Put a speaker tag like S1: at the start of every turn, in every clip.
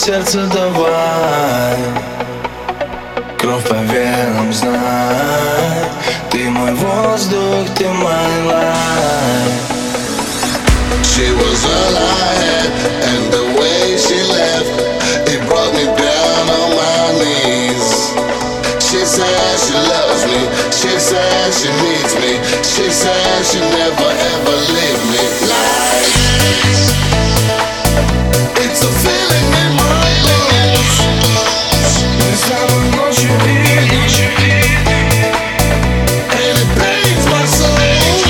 S1: сердце давай, кровь по венам, знай, ты мой воздух, ты мой life.
S2: She was all I had, and the way she left, it brought me down on my knees. She said she loves me, she said she needs me, she said she never ever leave me. Like, it's a feeling in my bones.
S1: Мы с тобой ночью видим,
S2: And it pains my soul.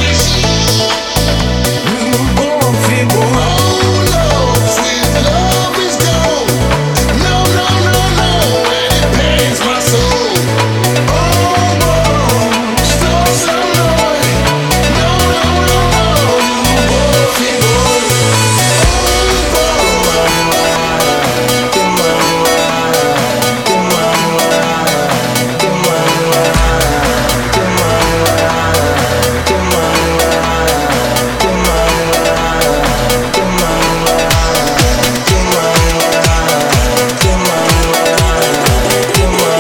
S1: любовь и боль.
S2: Oh no, sweet love is gone. No, no, no, no, and it pains my soul. Oh, oh, что со мной? No, no, no, no, любовь и боль. Oh,
S1: Ты мой life, ты мой life, ты мой life, ты мой life, ты мой life, ты мой life, ты мой life, ты мой life, ты мой life, ты мой life, ты мой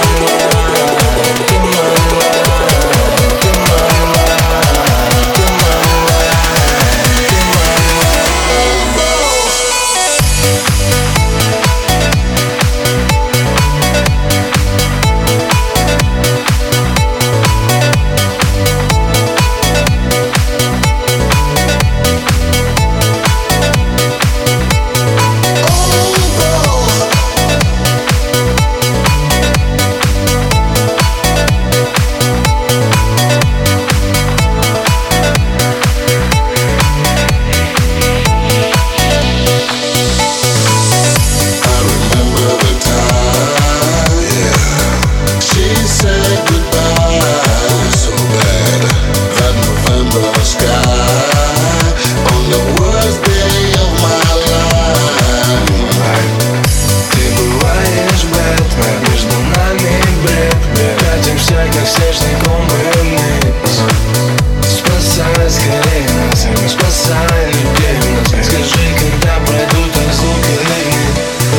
S2: I remember the time, yeah. She said goodbye so bad. That November sky on the worst day of my life.
S1: Ты бываешь Бэтмен, между нами бред. Катимся, как снежный ком вниз. Спасай скорее нас, спасай людей в нас. Скажи, когда пройдут разлуки линии.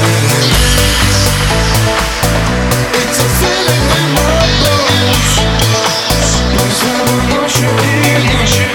S2: It's a feeling in my bones.
S1: Мы с тобой ночью и ночью.